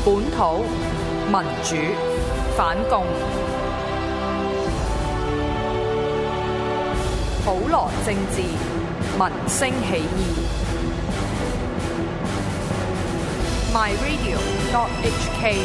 本土民主反共，普羅政治民聲起義。myradio.hk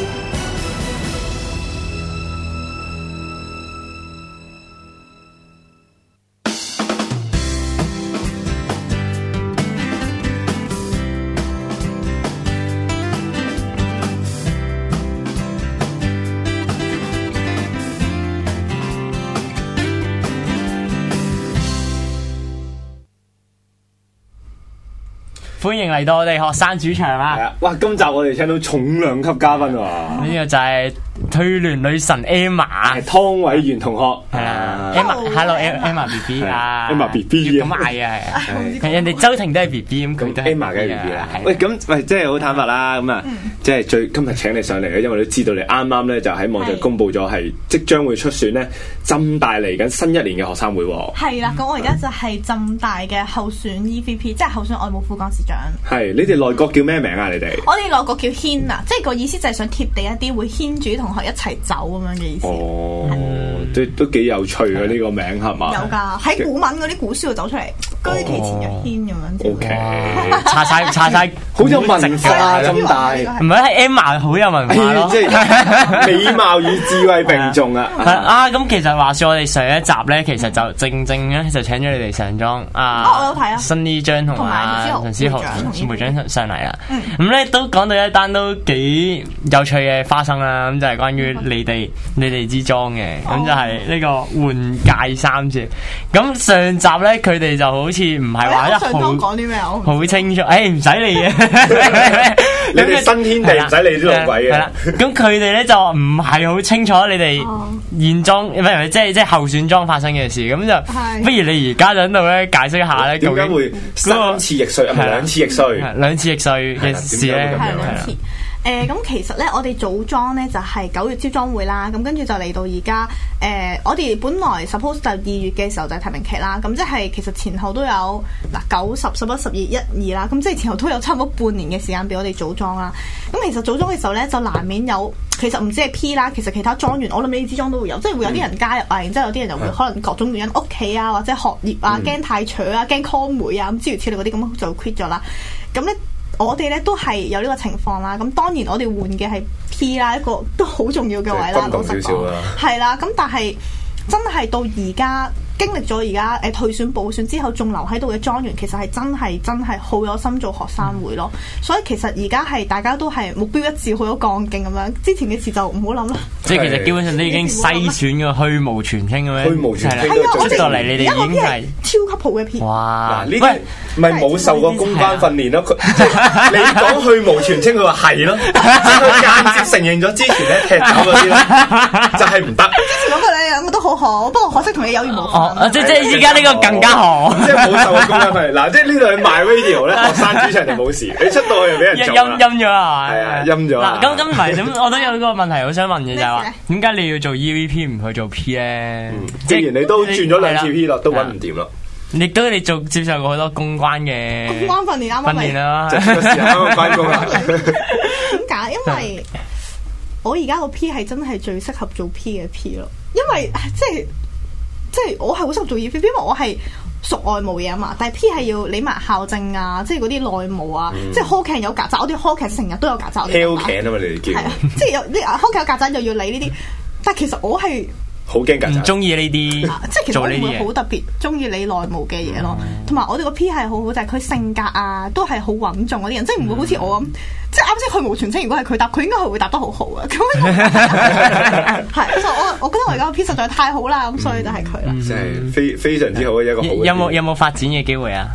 歡迎嚟到我哋學生主場啊！ 係啊，哇！今集我哋請到重量級嘉賓喎， 呢個就係退聯女神 Emma， 湯偉源同學係啦 ，Emma，Hello Emma BB 啊 ，Emma BB 咁嗌啊，係人哋周庭都係 BB 咁，佢都 Emma 嘅 BB 啦。喂，咁即係好坦白啦，咁啊，即係今日請你上嚟咧，因為都知道你啱啱咧就喺網上公佈咗係即將會出選咧浸大嚟緊新一年嘅學生會喎。 係啦，咁我而家就係浸大嘅候選 EVP， 即係候選外務副幹事長。 係，你哋內閣叫咩名啊？你哋我哋內閣叫牽啊，即係個意思就係想貼地一啲，會牽住同學一齊走咁樣嘅意思。 哦，都幾有趣啊！呢個名係嘛？ 有㗎，喺古文嗰啲古書度走出嚟，居其前若牽咁樣。 O K， 查晒， 好有文化浸大， 唔係係 Emma 好有文化咯， 即係美貌與智慧並重啊！ 咁其實話說我哋上一集咧，其實就正咧就請咗你哋上莊我有睇啊， 新呢張同埋陳思豪會長上嚟啦。咁咧都講到一單都幾有趣嘅花生啦，咁就係關於你哋支莊嘅，咁就係呢個換屆三節。咁上集咧佢哋就好似唔係話一好清楚，唔使理嘅， 你哋新天地唔使理啲老鬼嘅。係啦， 咁佢哋咧就唔係好清楚你哋現莊唔係即係候選莊發生嘅事，咁就不如你而家就喺度咧解釋一下咧， 點解會三次易帥，兩次易帥， 兩次易帥嘅事咧？ 係兩次。咁其實咧，我哋組莊咧就係9月招莊會啦，咁跟住就嚟到而家。我哋本來 suppose 就2月嘅時候就係提名期啦，咁即係其實前後都有9、10、11、12、1、2啦，咁即係前後都有差唔多半年嘅時間俾我哋組莊啦。咁其實組莊嘅時候咧，就難免有其實唔止係 P 啦，其實其他莊員我諗你支莊都會有，即係會有啲人加入啊，然之後有啲人就會可能各種原因屋企啊或者學業啊驚太扯啊驚 con 妹啊咁諸如此類嗰啲咁就 quit 咗啦。咁咧。我哋咧都係有呢個情況啦，咁當然我哋換嘅係 P 啦，一個都好重要嘅位啦，老實講，係啦，咁但係真係到而家經歷咗而家退選補選之後，仲留喺度嘅莊員，其實係真係好有心做學生會咯。所以其實而家係大家都係目標一致，好有幹勁咁樣。之前嘅事就唔好諗啦。 即係其實基本上都已經篩選嘅虛無全清咁樣。 虛無全清出到嚟，你哋已經係超級好嘅 P。 哇！ 呢啲咪冇受過公關訓練咯？你講虛無全清，佢話係咯，即係佢間接承認咗之前咧踢走嗰啲咧，就係唔得。 之前嗰個你兩個都好好，不過可惜同你有緣無分。 即係依家呢個更加好， 即係冇受過公關訓練。嗱，即係呢度係 MyRadio 咧，學生主場就冇事，你出到去就俾人陰咗啊！ 係啊，陰咗。 嗱，咁唔係咁，我都有個問題好想問嘅就係話，點解你要做 EVP 唔去做 P 咧？ 既然你都轉咗2次 P 咯，都揾唔掂咯。 亦都你接受過好多公關嘅公關訓練啱啱啦， 就係個時候啱啱翻工啦。 點解？因為我而家個 P 係真係最適合做 P 嘅 P 咯，因為即係我係好適合做 EVP，因為我係屬外務嘢啊嘛，但係 P 係要理埋校政啊，即係嗰啲內務啊，即係 hall can 有曱甴，我哋 hall can 成日都有曱甴。 hall can 啊嘛，你哋叫。係啊， 即係有啲 hall can 有曱甴又要理呢啲，但係其實我係好驚曱甴， 唔中意呢啲， 即係其實我唔會好特別中意理內務嘅嘢咯。同埋我哋個 P 係好好，就係佢性格啊，都係好穩重嗰啲人，即係唔會好似我咁，即係啱先虛無全清。如果係佢答，佢應該係會答得好好啊。咁係，我覺得我而家個 P 實在太好啦，咁所以就係佢啦。 即係非常之好嘅一個好。 有冇發展嘅機會啊？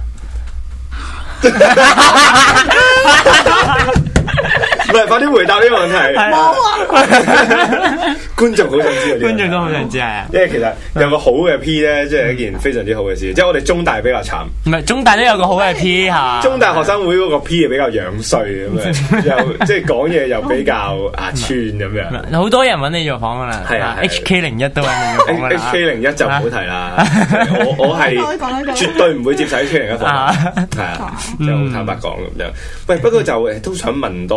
唔係，快啲回答呢個問題。 冇啊！ 觀眾好想知啊！ 觀眾都好想知係啊。 因為其實有個好嘅 P 咧，即係一件非常之好嘅事。即係我哋中大比較慘， 唔係中大都有個好嘅 P 嚇。 中大學生會嗰個 P 係比較樣衰咁樣，又即係講嘢又比較串咁樣。 好多人揾你做訪㗎啦， 係啊 HK01都揾你做訪㗎啦。 HK01就唔好提啦，我係絕對唔會接受 HK01訪問，係啊，就好坦白講咁樣。喂，不過就都想問多啲啦。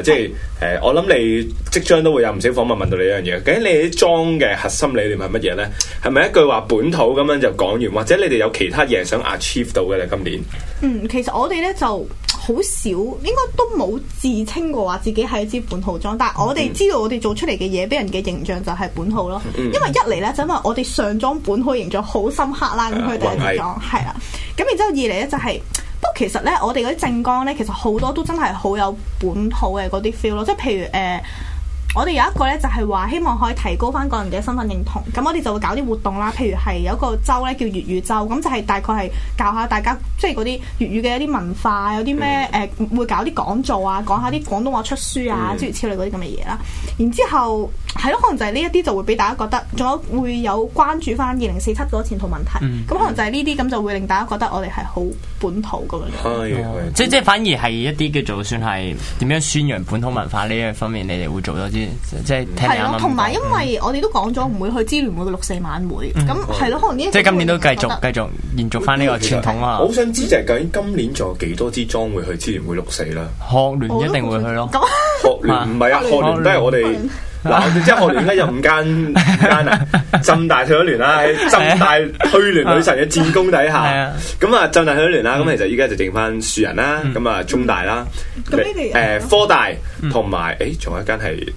即係我諗你即將都會有唔少訪問問到你一樣嘢，究竟你啲莊嘅核心理念係乜嘢咧？係咪一句話本土咁樣就講完，或者你哋有其他嘢想 achieve 到嘅咧？今年其實我哋咧就好少，應該都冇自稱過話自己係一支本土莊，但係我哋知道我哋做出嚟嘅嘢，俾人嘅形象就係本土咯。因為一嚟咧就因為我哋上莊本土形象好深刻啦，咁佢第一支莊係啦，咁然之後二嚟咧就係。不過其實咧，我哋嗰啲政綱咧，其實好多都真係好有本土嘅嗰啲 feel 咯，即係譬如我哋有一個咧就係話希望可以提高翻個人嘅身份認同，咁我哋就會搞啲活動啦，譬如係有一個週咧叫粵語週，咁就係大概係教下大家即係嗰啲粵語嘅一啲文化，有啲咩會搞啲講座啊，講下啲廣東話出書啊，諸如此類嗰啲咁嘅嘢啦。然之後係咯，可能就係呢一啲就會俾大家覺得，仲有會有關注翻2047嗰個前途問題，咁可能就係呢啲咁就會令大家覺得我哋係好本土咁樣。 即係反而係一啲叫做算係點樣宣揚本土文化呢一方面，你哋會做多啲。即係係咯， 同埋因為我哋都講咗唔會去支聯會嘅6·4晚會，咁係咯，可能呢即係今年都繼續延續翻呢個傳統啊！ 我好想知就係究竟今年仲有幾多支莊會去支聯會6·4啦？ 學聯一定會去咯。 學聯唔係啊，學聯都係我哋嗱，我哋即係學聯而家有5間啊，浸大退咗聯啦，喺浸大退聯女神嘅戰功底下，咁啊浸大退咗聯啦，咁其實依家就剩翻樹人啦，咁啊中大啦，科大同埋仲有一間係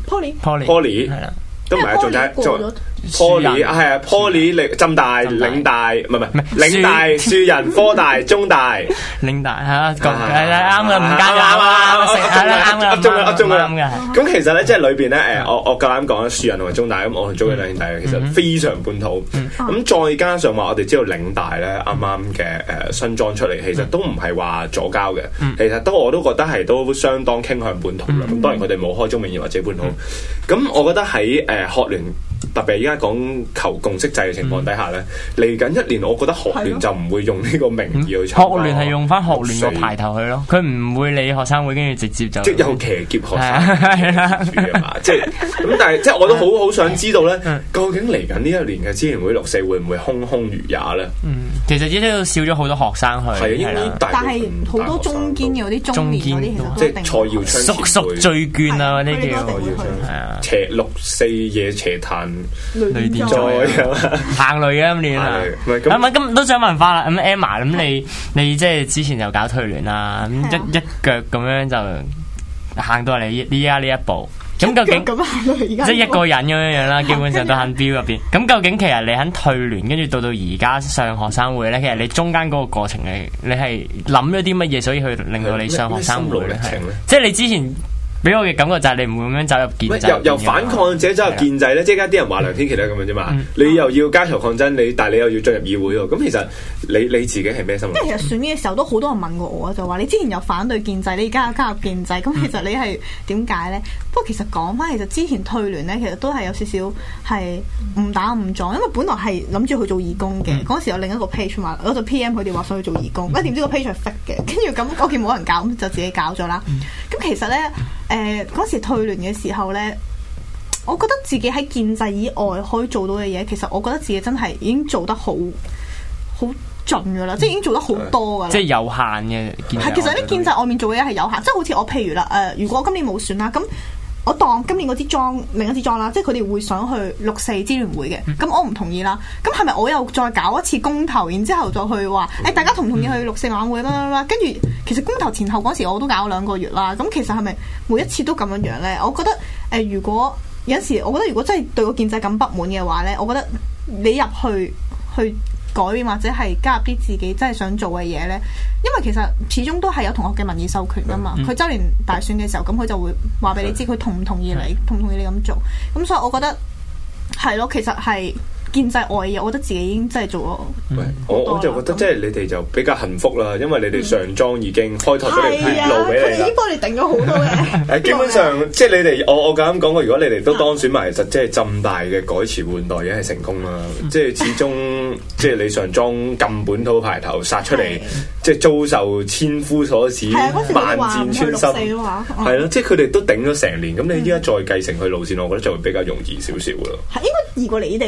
Poly 係啦，都唔係啊，仲有Poly 係啊 Poly 浸大嶺大唔係嶺大樹人科大中大嶺大係啦，啱嘅，唔加啱啊，係啦，啱嘅，中嘅。咁其實咧，即係裏邊咧，我夠膽講啦，樹人同埋中大咁，我同中嘅兩兄弟其實非常本土。咁再加上話，我哋知道嶺大咧啱啱嘅新莊出嚟，其實都唔係話左膠嘅，其實我都覺得係都相當傾向本土啦。咁當然佢哋冇開宗明義或者本土。咁我覺得喺學聯。特別而家講求共識制嘅情況底下咧，嚟緊一年，我覺得學聯就唔會用呢個名義去參加。 學聯係用翻學聯個牌頭去咯，佢唔會理學生會，跟住直接就即係有騎劫學生嘛，即係咁。但係即係我都好想知道咧，究竟嚟緊呢一年嘅支聯會6·4會唔會空空如也咧？ 其實只都少咗好多學生去， 係啊， 但係好多中堅嘅嗰啲中年嗰啲， 即係蔡耀昌叔醉卷啊嗰啲叫， 係啊，邪6·4夜邪壇。 雷電災行雷啊！今年啊，咁都想問翻啦。咁 Emma， 咁你即係之前就搞退聯啦，咁一腳咁樣就行到嚟呢家呢一步。咁究竟即係一個人咁樣樣啦，基本上都喺標入邊。咁究竟其實你喺退聯，跟住到而家上學生會咧，其實你中間嗰個過程你係諗咗啲乜嘢，所以去令到你上學生會咧？即係你之前。俾我嘅感覺就係你唔會咁樣走入建制， 由反抗者走入建制咧，即係而家啲人話梁天琦都係咁樣啫嘛。你又要加強抗爭，但係你又要進入議會喎。咁其實你自己係咩心態？ 因為其實選嘅時候都好多人問過我，就話你之前有反對建制，你而家又加入建制，咁其實你係點解咧？不過其實講翻，其實之前退聯咧，其實都係有少少係誤打誤撞，因為本來係諗住去做義工嘅。嗰時有另一個 page 嘛，我就 PM 佢哋話想去做義工，點知個 page 係 fake 嘅，跟住咁我見冇人搞，咁就自己搞咗啦。咁其實咧。嗰時退聯嘅時候呢，我覺得自己喺建制以外可以做到嘅嘢，其實我覺得自己真係已經做得好盡噶啦，即係已經做得好多噶啦。 即係有限嘅建制。 係，其實啲建制外面做嘅嘢係有限，即係好似我譬如啦，如果今年冇選啦，咁我當今年嗰支莊另一支莊啦，即係佢哋會想去6·4支聯會嘅，咁我唔同意啦。咁係咪我又再搞一次公投，然之後再去話大家同唔同意去6·4晚會啦？跟住其實公投前後嗰時我都搞咗2個月啦。咁其實係咪每一次都咁樣樣咧？我覺得如果有陣時，我覺得如果真係對個建制咁不滿嘅話咧，我覺得你入去改變或者係加入啲自己真係想做嘅嘢咧，因為其實始終都係有同學嘅民意授權噶嘛。佢周年大選嘅時候，咁佢就會話俾你知佢同唔同意你，同唔同意你咁做。咁所以我覺得係咯，其實係建制外嘅嘢，我覺得自己已經真係做咗。 我就覺得即係你哋就比較幸福啦，因為你哋上莊已經開拓咗條血路俾你啦。 已經幫你定咗好多嘅。 基本上即係你哋，我咁講過，如果你哋都當選埋，其實即係浸大嘅改朝換代已經係成功啦。即係始終即係你上莊咁本土牌頭殺出嚟，即係遭受千夫所指，萬箭穿心。係咯，即係佢哋都頂咗成年，咁你依家再繼承佢路線，我覺得就會比較容易少少咯。 係應該易過你哋啦，至少。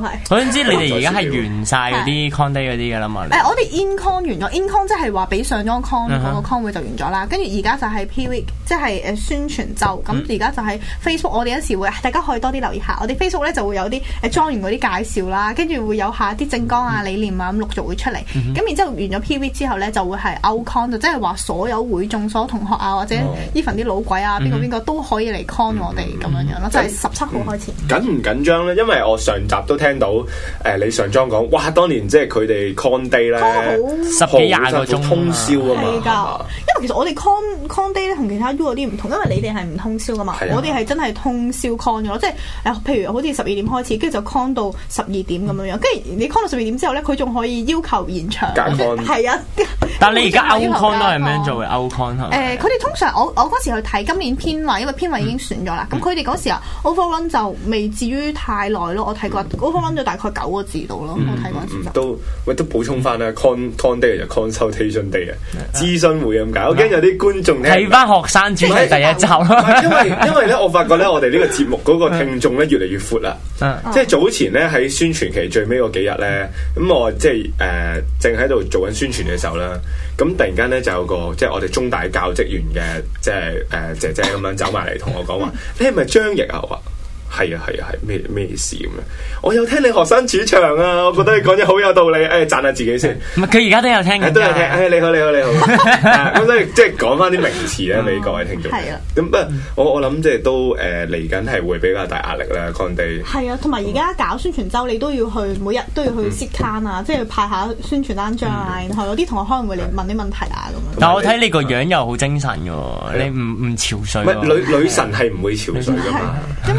係。 我想知你哋而家係完晒嗰啲 con day 嗰啲㗎啦嘛？ 我哋 in con 完咗 ，in con 即係話俾上咗 con 嗰個 con 會就完咗啦。跟住而家就係 P-week， 即係宣傳週。咁而家就係 Facebook， 我哋有時會大家可以多啲留意下。我哋 Facebook 咧就會有啲莊園嗰啲介紹啦，跟住會有下啲政綱啊、理念啊咁陸續會出嚟。咁然之後完咗 P-week 之後咧，就會係 out con， 就即係話所有會眾所有同學啊，或者 even 啲老鬼啊，邊個都可以嚟 con 我哋咁樣咯。就係17號開始。緊唔緊張咧？因為我上集都聽到你上莊講，哇！當年即係佢哋 con day 咧 ，10幾20個鐘通宵啊嘛。 係㗎，因為其實我哋 con day 咧同其他 U 嗰啲唔同，因為你哋係唔通宵㗎嘛，我哋係真係通宵 con 嘅咯，即係譬如好似12點開始，跟住就 con 到12點咁樣樣，跟住你 con 到12點之後咧，佢仲可以要求延長。係啊， 但係你而家 out con 都係咩做嘅 out con 係？ 佢哋通常我嗰時去睇今年編委，因為編委已經選咗啦。咁佢哋嗰時啊 overrun 就未至於太耐咯。我睇過 overrun 咗大概9個字度咯。我睇過一次都補充翻啦。con day 就 consultation day 啊，諮詢會咁解。我驚有啲觀眾睇翻學生主題第一集咯。 因為咧，我發覺咧，我哋呢個節目嗰個聽眾咧越嚟越闊啦。即係早前咧喺宣傳期最尾嗰幾日咧，咁我即係正喺度做緊宣傳嘅時候啦。咁突然間咧就有個即係我哋中大教職員嘅即係姐姐咁樣走埋嚟同我講話，你係咪張譯啊？我話係啊，咩事咁樣？我有聽你學生主場啊，我覺得你講嘢好有道理，讚下自己先。 唔係佢而家都有聽嘅， 都有聽。你好。咁所以即係講翻啲名詞咧，俾各位聽眾。係啊。咁不過我諗即係都嚟緊係會比較大壓力啦 con day。 係啊，同埋而家搞宣傳週，你都要去每日都要去 sit can 啊，即係派下宣傳單張啊，然後有啲同學可能會嚟問啲問題啊咁樣。 但我睇你個樣又好精神嘅喎，你唔憔悴。 唔係女神係唔會憔悴㗎嘛，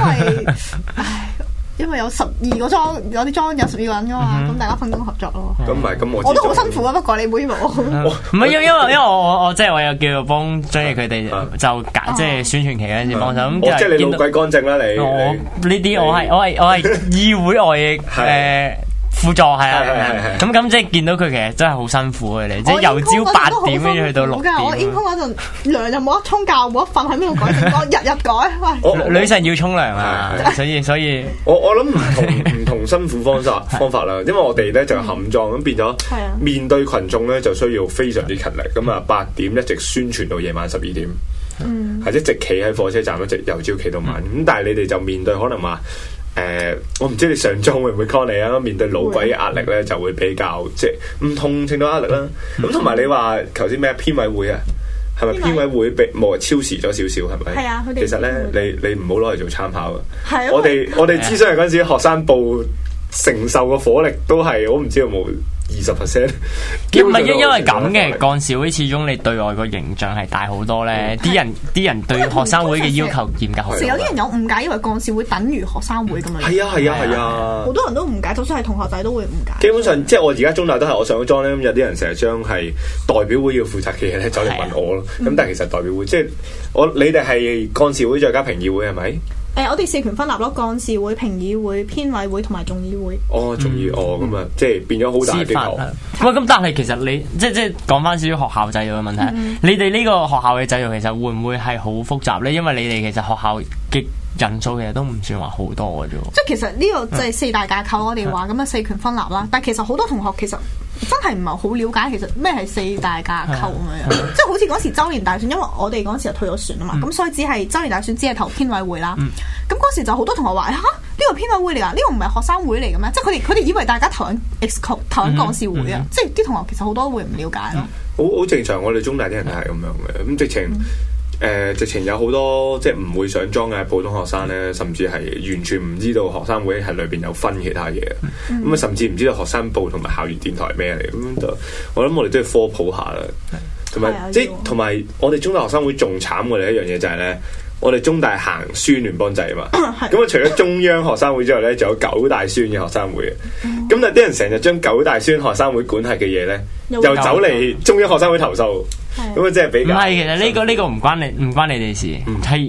因為有12個莊，有啲莊有12個人噶嘛，咁大家分工合作咯。 咁我都好辛苦啊，不過你妹冇。 唔係因為我即係我有叫做幫張譯佢哋就即係宣傳期嗰陣時幫手咁。 即係你老鬼乾淨啦你。 呢啲我係議會外輔助係啊，咁即係見到佢其實真係好辛苦嘅你，即係由朝8點跟住去到6點。 我 in con 嗰陣涼又冇得沖，覺冇得瞓，喺邊度改政綱，日改。 女神要沖涼啊，所以我諗唔同辛苦方法啦，因為我哋咧就冚莊咁變咗，面對群眾咧就需要非常之勤力，咁啊8點一直宣傳到夜晚12點，係一直企喺火車站一直由朝企到晚，咁但係你哋就面對可能話。我唔知你上莊會唔會 call 你啊？面對老鬼嘅壓力咧，就會比較即係唔同程度壓力啦。咁同埋你話頭先咩編委會啊？係咪編委會被超時咗少少？係咪？係啊，其實咧，你唔好攞嚟做參考啊！我哋諮詢嗰陣時，學生部承受嘅火力都係我唔知有冇20%。 唔係因為咁嘅幹事會，始終你對外個形象係大好多咧。啲人對學生會嘅要求嚴格好多。 有啲人有誤解，以為幹事會等於學生會咁樣。 係啊！ 好多人都誤解，就算係同學仔都會誤解。 基本上，即係我而家中大都係我上咗莊咧，有啲人成日將係代表會要負責嘅嘢咧走嚟問我咯。咁但係其實代表會即係你哋係幹事會再加評議會係咪？ 我哋4權分立咯，幹事會、評議會、編委會同埋眾議會。 眾議咁啊，即係變咗好大嘅機構。 喂，咁但係其實你即係講翻少少學校制度嘅問題，你哋呢個學校嘅制度其實會唔會係好複雜咧？因為你哋其實學校嘅人數其實都唔算話好多嘅啫。即係其實呢個就係4大架構，我哋話咁啊4權分立啦。但係其實好多同學其實真係唔係好了解其實咩係4大架構咁樣。即係好似嗰時周年大選，因為我哋嗰時就退咗選啊嘛，咁所以只係周年大選只係投編委會啦。咁嗰時就好多同學話呢個編委會嚟㗎，呢個唔係學生會嚟嘅咩？即係佢哋以為大家投緊 EXCO 投緊幹事會啊。即係啲同學其實好多會唔了解咯。 好正常，我哋中大啲人都係咁樣嘅。咁直情有好多即係唔會上莊嘅普通學生咧，甚至係完全唔知道學生會係裏邊有分其他嘢，咁啊甚至唔知道學生報同埋校園電台係咩嚟，咁就我諗我哋都要科普下啦，同埋我哋中大學生會仲慘過你一樣嘢就係咧，我哋中大行宣聯邦制啊嘛，咁啊除咗中央學生會之外咧，仲有9大宣嘅學生會嘅，咁啊啲人成日將9大宣學生會管轄嘅嘢咧，又走嚟中央學生會投訴。咁啊，即係比較唔係，其實呢個唔關你哋事，係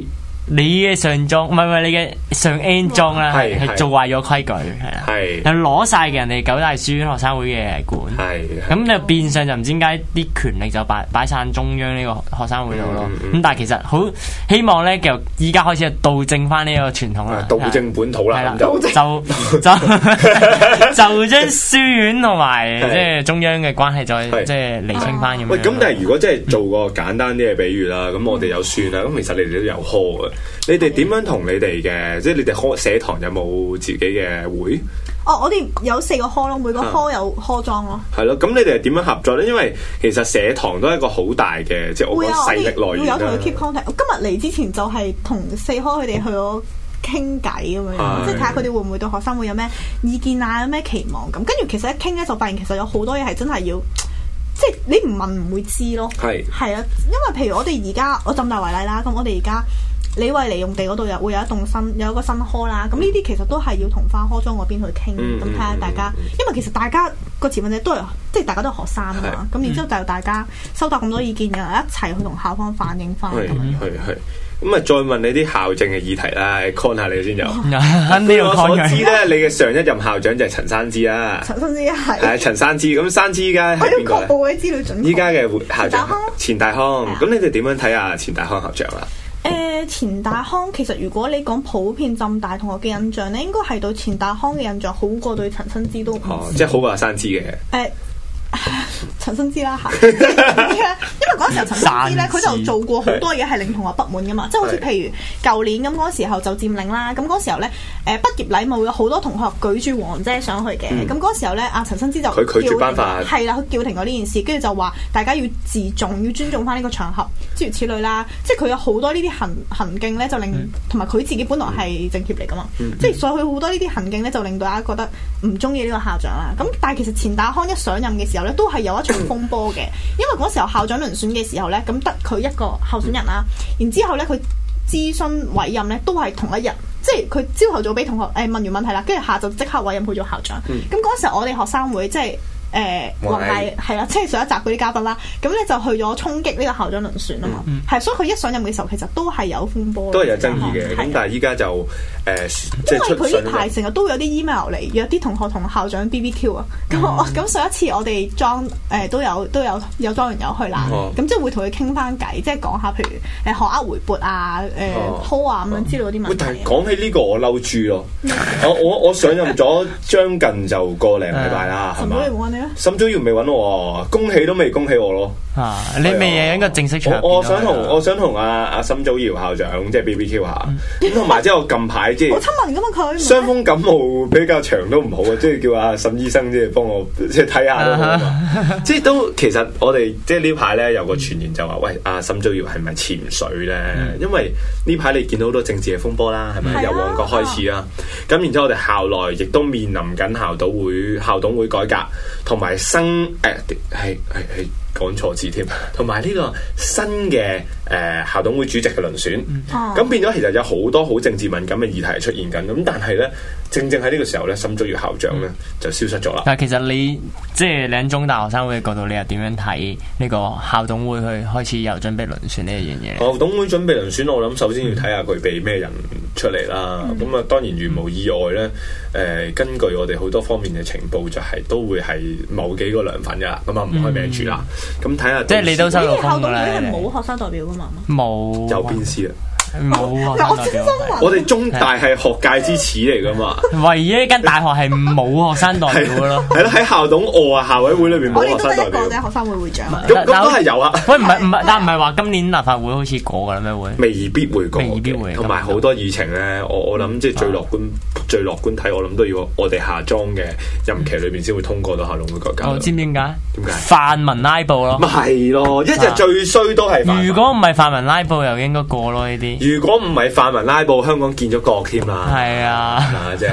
你嘅上莊唔係你嘅上 N 莊啦，係做壞咗規矩，係啦，係攞晒嘅人哋九大書院學生會嘅管，咁就變相就唔知點解啲權力就擺晒中央呢個學生會度咯。咁但係其實好希望咧，就依家開始倒正翻呢個傳統啦， 倒正本土啦， 就將書院同埋即係中央嘅關係再即係釐清翻咁樣。 喂，咁但係如果即係做個簡單啲嘅比喻啦，咁我哋有書啦，咁其實你哋都有科嘅，你哋點樣同你哋嘅，即係你哋社堂有冇自己嘅會？ 哦，我哋有4個科咯，每個科有科裝咯。係咯，咁你哋係點樣合作咧？因為其實社堂都係一個好大嘅，即係我講勢力來源啦。會有同佢 keep contact。我今日嚟之前就係同4科佢哋去咗傾偈咁樣，即係睇下佢哋會唔會對學生會有咩意見啊，有咩期望咁。跟住其實一傾咧，就發現其實有好多嘢係真係要，即係你唔問唔會知咯。係啊，因為譬如我哋而家我浸大為例啦，咁我哋而家李惠利用地嗰度又會有一個新科啦。咁呢啲其實都係要同翻科裝嗰邊去傾，咁睇下大家，因為其實大家個持份者都係即係大家都係學生啊嘛。咁然之後就大家收集咁多意見，然後一齊去同校方反映翻。係。 咁啊，再問你啲校政嘅議題啦，con 下你先有。據我所知咧，你嘅上一任校長就係陳山之啦。陳山之係陳山之，咁山之依家係邊個？我要確保啲資料準確。依家嘅校長錢大康，咁你哋點樣睇啊？錢大康校長啊？ 錢大康其實如果你講普遍浸大同學嘅印象咧，應該係對錢大康嘅印象好過對陳新之都。 即係好過山之嘅。 陳新之啦嚇，因為嗰時候陳新之咧，佢就做過好多嘢係令同學不滿噶嘛，即係好似譬如舊年咁嗰時候就佔領啦，咁嗰時候咧畢業禮咪會有好多同學舉住黃遮上去嘅，咁嗰時候咧阿陳新之就佢拒絕頒發， 係啦，佢叫停咗呢件事，跟住就話大家要自重，要尊重翻呢個場合，諸如此類啦，即係佢有好多呢啲行徑咧，就令同埋佢自己本來係政協嚟噶嘛，即係所以佢好多呢啲行徑咧，就令到大家覺得唔中意呢個校長啦。咁但係其實錢大康一上任嘅時候咧，都係有一場風波嘅，因為嗰時候校長遴選嘅時候咧，咁得佢一個候選人啦，然之後咧佢諮詢委任咧都係同一日，即係佢朝頭早俾同學問完問題啦，跟住下晝即刻委任佢做校長。咁嗰時候我哋學生會即係黃毅係啦，即係上一集嗰啲嘉賓啦，咁咧就去咗衝擊呢個校長遴選啊嘛，係，所以佢一上任嘅時候其實都係有風波， 都係有爭議嘅。咁但係依家就因為佢呢排成日都有啲 email 嚟約啲同學同校長 BBQ 啊，咁上一次我哋莊都有莊員友去啦，咁即係會同佢傾翻偈，即係講下譬如學額回撥啊、call 啊咁樣之類嗰啲問題。 但係講起呢個我嬲豬咯，我上任咗將近就個零禮拜啦，係嘛？沈祖堯未揾我，恭喜都未恭喜我咯。 你未嘢應該正式場。 我想同阿沈祖堯校長即係 BBQ 下，咁同埋即係我近排即係好親民噶嘛佢。 傷風感冒比較長都唔好啊，即係叫阿沈醫生即係幫我即係睇下都好啊。即係都其實我哋即係呢排咧有個傳言就話喂，阿沈祖堯係咪潛水咧？因為呢排你見到好多政治嘅風波啦，係咪由旺角開始啦？咁然之後我哋校內亦都面臨緊校董會改革。同埋新係講錯字添，同埋呢個新嘅校董會主席嘅輪選，咁變咗其實有好多好政治敏感嘅議題出現緊，咁但係咧正喺呢個時候咧，沈祖堯校長咧就消失咗啦。 但係其實你即係你喺中大學生會嘅角度，你又點樣睇呢個校董會去開始又準備輪選呢一樣嘢？ 校董會準備輪選，我諗首先要睇下佢俾咩人出嚟啦。咁啊，當然如無意外咧，根據我哋好多方面嘅情報，就係都會係某幾個梁粉噶啦，咁啊唔開名住啦。咁睇下， 即係你都收到風㗎啦。 係冇學生代表噶嘛？ 冇有邊師啊？ 冇啊！ 我哋中大係學界之始嚟噶嘛， 唯一一間大學係冇學生代表嘅咯。 係咯，喺校董校委會裏邊冇學生代表。 我哋都係一個學生會會長。 咁都係有啊。 喂，唔係，但唔係話今年立法會好似過噶啦咩會？ 未必會過，未必會。同埋好多議程咧，我諗即係最樂觀睇，我諗都要我哋下莊嘅任期裏邊先會通過到校董會改革。 知唔知點解？ 點解？ 泛民拉布咯。 咪係咯，一日最衰都係泛民。 如果唔係泛民拉布，又應該過咯呢啲。 如果唔係泛民拉布，香港建咗國添啦。係啊， 即係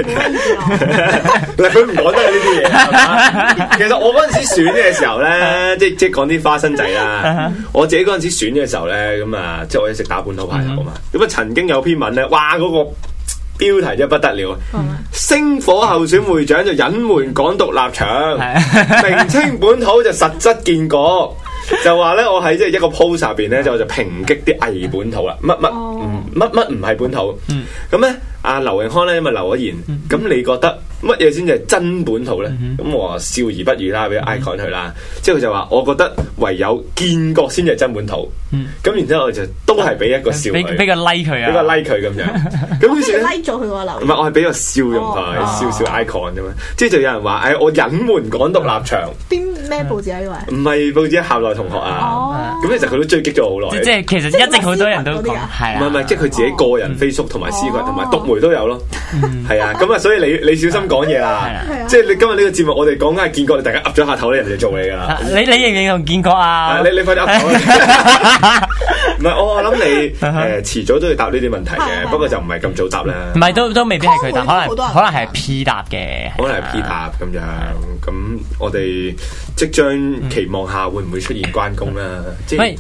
嗱，佢唔講得呢啲嘢係嘛？其實我嗰陣時選嘅時候咧，即係講啲花生仔啦。我自己嗰陣時選嘅時候咧，咁啊，即係我一直打本土牌頭啊嘛。咁啊，曾經有篇文咧，哇，嗰個標題真不得了，星火候選會長就隱瞞港獨立場，名稱本土就實質建國。就話咧，我喺即係一個 post 入邊咧，就抨擊啲偽本土啦，乜乜唔係本土？咁咧，阿劉永康咧咪留咗言，咁你覺得乜嘢先至係真本土咧？咁我話笑而不語啦，俾 icon 佢啦。之後佢就話：我覺得唯有建國先至係真本土。咁然之後我就都係俾一個笑佢， 俾個 like 佢啊， 俾個 like 佢咁樣。咁於是 like 咗佢個留言。 唔係，我係俾個笑容佢，笑 icon 啫嘛。即係就有人話：我隱瞞港獨立場。 咩報紙啊？呢位唔係報紙，校內同學啊。咁其實佢都追擊咗好耐。 即係其實一直好多人都講係啊。 唔係，即係佢自己個人 Facebook 同埋私群同埋獨媒都有咯。係啊，咁啊，所以你小心講嘢啦。即係你今日呢個節目，我哋講緊係建國，你大家噏咗下頭咧，人哋就做你噶啦。 你認唔認同建國啊？ 你快啲噏頭。唔係，我諗你遲早都要答呢啲問題嘅，不過就唔係咁早答啦。 唔係都未必係佢答，可能係 P 答嘅， 可能係 P 答咁樣。咁我哋即將期望下會唔會出現關公啦？ 喂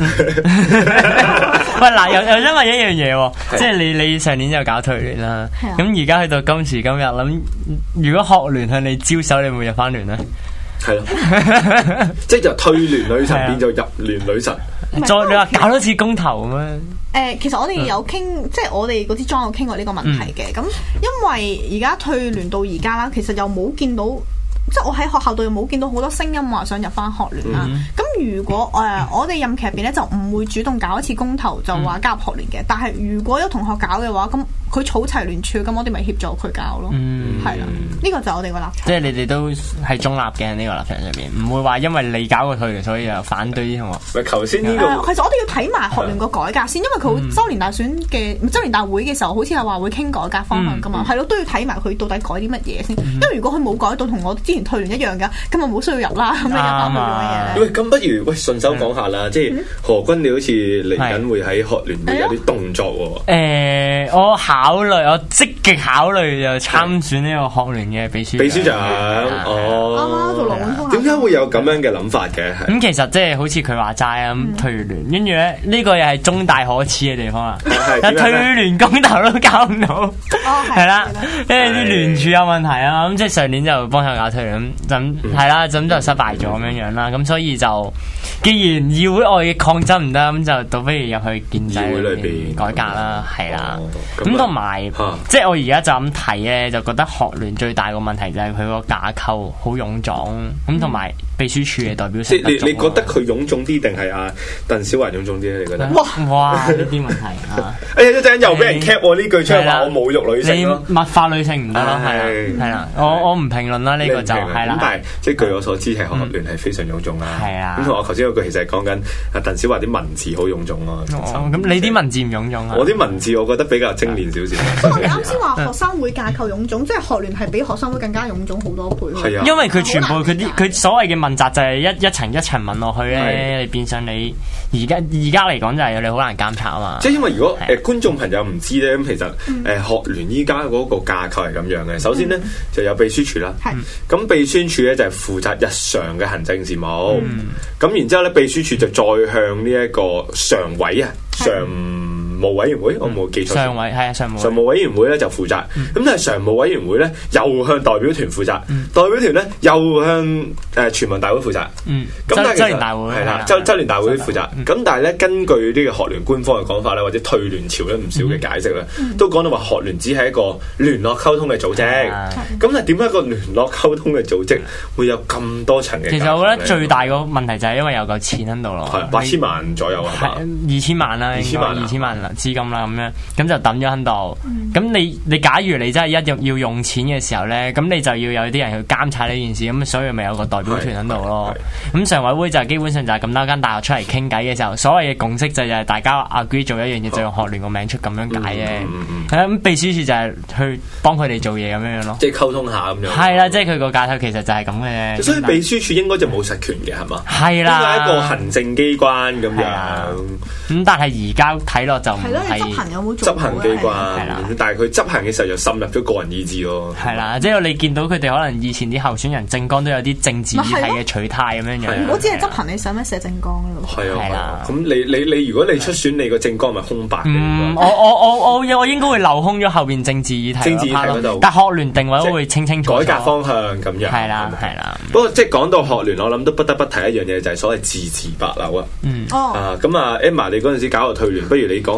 嗱，又因為一樣嘢喎，即係你上年就搞退聯啦，咁而家去到今時今日，諗如果學聯向你招手，你會唔會入翻聯咧？ 係咯，即係就退聯女神變做入聯女神。 再你話搞多次公投咁樣？ 其實我哋有傾，即係我哋嗰啲莊有傾過呢個問題嘅。咁因為而家退聯到而家啦，其實又冇見到。即係我喺學校度又冇見到好多聲音話想入翻學聯啦。咁如果我哋任期入邊咧就唔會主動搞一次公投就話加入學聯嘅。但係如果有同學搞嘅話，咁佢儲齊聯署，咁我哋咪協助佢搞咯。係啦，呢個就係我哋個立場。 即係你哋都係中立嘅呢個立場上面，唔會話因為你搞過退聯，所以又反對啲同學。 頭先呢個其實我哋要睇埋學聯個改革先，因為佢周年大選嘅周年大會嘅時候，好似係話會傾改革方向噶嘛。係咯，都要睇埋佢到底改啲乜嘢先。因為如果佢冇改到同我之前退聯一樣㗎，咁咪冇需要入啦。咁你入翻去做乜嘢咧？ 喂，咁不如順手講下啦，即係何君你好似嚟緊會喺學聯會有啲動作喎。 我積極考慮就參選呢個學聯嘅秘書長。 哦， 做羅永康。 點解會有咁樣嘅諗法嘅？ 咁其實即係好似佢話齋啊，退聯，跟住咧呢個又係中大可恥嘅地方啦。退聯公投都搞唔到，係啦，因為啲聯署有問題啊。咁即係上年就幫手搞退聯，咁係啦，咁就失敗咗咁樣啦。咁所以就既然議會外嘅抗爭唔得，咁就倒不如入去建制裏邊改革啦，係啦。咁同埋即係我而家就咁睇咧，就覺得學聯最大個問題就係佢個架構好臃腫，咁同埋秘書處嘅代表性不足。 你覺得佢臃腫啲定係阿鄧小華臃腫啲咧？你覺得？ 哇！呢啲問題啊！ 哎呀，一陣又俾人 cap 我呢句出嚟話我侮辱女性咯。 你物化女性唔得咯，係啦，我唔評論啦，呢個就係啦。 咁但係即係據我所知係學聯係非常臃腫啦。係啊。咁同我頭先嗰句其實係講緊阿鄧小華啲文字好臃腫咯。 咁你啲文字唔臃腫啊？ 我啲文字我覺得比較精煉少少。 你啱先話學生會架構臃腫，即係學聯係比學生會更加臃腫好多倍。 係啊， 因為佢全部佢所謂嘅問責就係一層一層問落去咧，變相你而家嚟講就係你好難監察啊嘛。 即係因為如果觀眾朋友唔知咧，咁其實學聯依家嗰個架構係咁樣嘅。首先咧就有秘書處啦，咁秘書處咧就係負責日常嘅行政事務，咁然之後咧秘書處就再向呢一個常委啊常務委員會，我冇記錯。常委係啊，常務委員會咧就負責，咁但係常務委員會咧又向代表團負責，代表團咧又向全民大會負責。咁但係周年大會係啦，周年大會負責。咁但係咧，根據呢個學聯官方嘅講法咧，或者退聯潮咧唔少嘅解釋咧，都講到話學聯只係一個聯絡溝通嘅組織。咁但係點解一個聯絡溝通嘅組織會有咁多層嘅？ 其實我覺得最大個問題就係因為有嚿錢喺度咯， 係8000萬左右啊 ，2000萬啦，2000萬資金啦，咁樣咁就抌咗喺度。咁你假如你真係要用錢嘅時候咧，咁你就要有啲人去監察呢件事，咁所以咪有個代表團喺度咯。咁常委會就基本上就係咁多間大學出嚟傾偈嘅時候，所謂嘅共識就係大家 agree 做一樣嘢，就用學聯個名出咁樣解嘅。咁秘書處就係去幫佢哋做嘢咁樣咯， 即係溝通下咁樣。 係啦，即係佢個架構其實就係咁嘅。 所以秘書處應該就冇實權嘅係嘛？ 係啦， 應該係一個行政機關咁樣。 咁但係而家睇落就係咯，你執行有冇做？ 執行機關，但係佢執行嘅時候就滲入咗個人意志咯。 係啦，即係你見到佢哋可能以前啲候選人政綱都有啲政治議題嘅取態咁樣樣。 如果只係執行，你使乜寫政綱咯？ 係啊，咁你如果你出選，你個政綱咪空白嘅。 我應該會留空咗後邊政治議題嗰度，但學聯定位都會清楚。 改革方向咁樣。 係啦。 不過即係講到學聯，我諗都不得不提一樣嘢，就係所謂字詞白流啊。咁啊 Emma，你嗰陣時搞個退聯，不如你講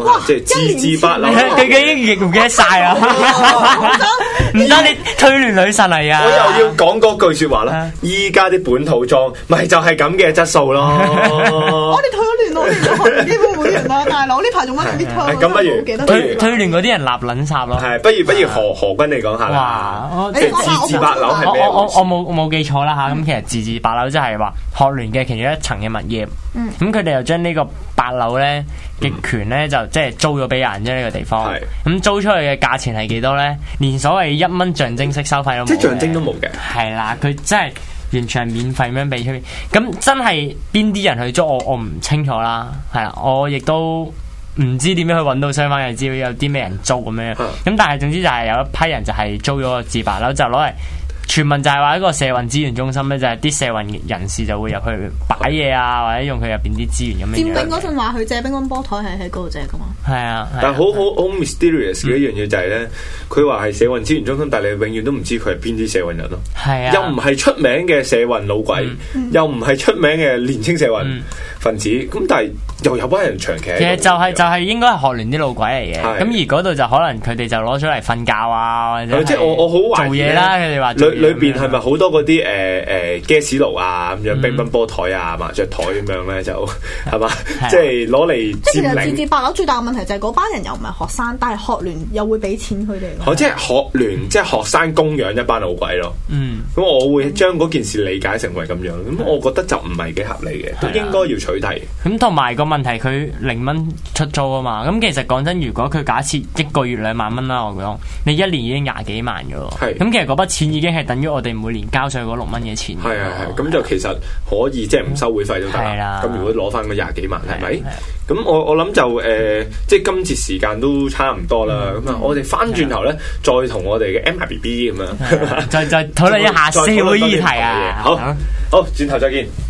即係自治八樓。 佢已經唔記得晒啊！唔得，你推聯女神嚟啊！ 我又要講嗰句説話啦，依家啲本土裝咪就係咁嘅質素咯。 我哋退咗聯，我哋做學聯基本會員啦，大佬呢排仲乜啲退？ 咁不如退聯嗰啲人立撚插咯。 係，不如何君你講下啦。即係自治八樓係咩？ 我冇記錯啦嚇。咁其實自治八樓即係話學聯嘅其中一層嘅物業。咁佢哋又將呢個八樓咧嘅權咧就即係租咗俾人啫，呢個地方。咁租出去嘅價錢係幾多咧？連所謂1蚊象徵式收費都冇。即係象徵都冇嘅。 係啦，佢真係完全係免費咁樣俾出邊。咁真係邊啲人去租我唔清楚啦。係啦，我亦都唔知點樣去揾到相關嘅資料，有啲咩人租咁樣。咁但係總之就係有一批人就係租咗個自八樓，就攞嚟。傳聞就係話一個社運資源中心咧，就係啲社運人士就會入去擺嘢啊，或者用佢入邊啲資源咁樣。 佔兵嗰陣話佢借乒乓波台係喺嗰度借噶嘛？ 係啊， 但係好 mysterious 嘅一樣嘢就係咧，佢話係社運資源中心，但係你永遠都唔知佢係邊啲社運人咯。 係啊， 又唔係出名嘅社運老鬼，又唔係出名嘅年青社運分子，咁但係又有班人長期。 其實就係應該係學聯啲老鬼嚟嘅，咁而嗰度就可能佢哋就攞咗嚟瞓覺啊，或者即係我好懷疑做嘢啦。佢哋話裏邊係咪好多嗰啲gas爐啊咁樣乒乓波台啊麻雀台咁樣咧就係嘛，即係攞嚟佔領。 即係其實自治八樓最大嘅問題就係嗰班人又唔係學生，但係學聯又會俾錢佢哋。 即係學聯即係學生供養一班老鬼咯。咁我會將嗰件事理解成為咁樣，咁我覺得就唔係幾合理嘅，都應該要取締。 咁同埋個問題，佢0蚊出租啊嘛。咁其實講真，如果佢假設一個月2萬蚊啦，我講你一年已經20幾萬嘅喎。咁其實嗰筆錢已經係等於我哋每年交上嗰6蚊嘅錢。 係，咁就其實可以即係唔收會費都得啦。咁如果攞翻嗰20幾萬係咪？咁我諗就即係今次時間都差唔多啦。咁啊，我哋翻轉頭咧，再同我哋嘅 MRBB 咁樣， 再討論一下社會議題啊。 好，轉頭再見。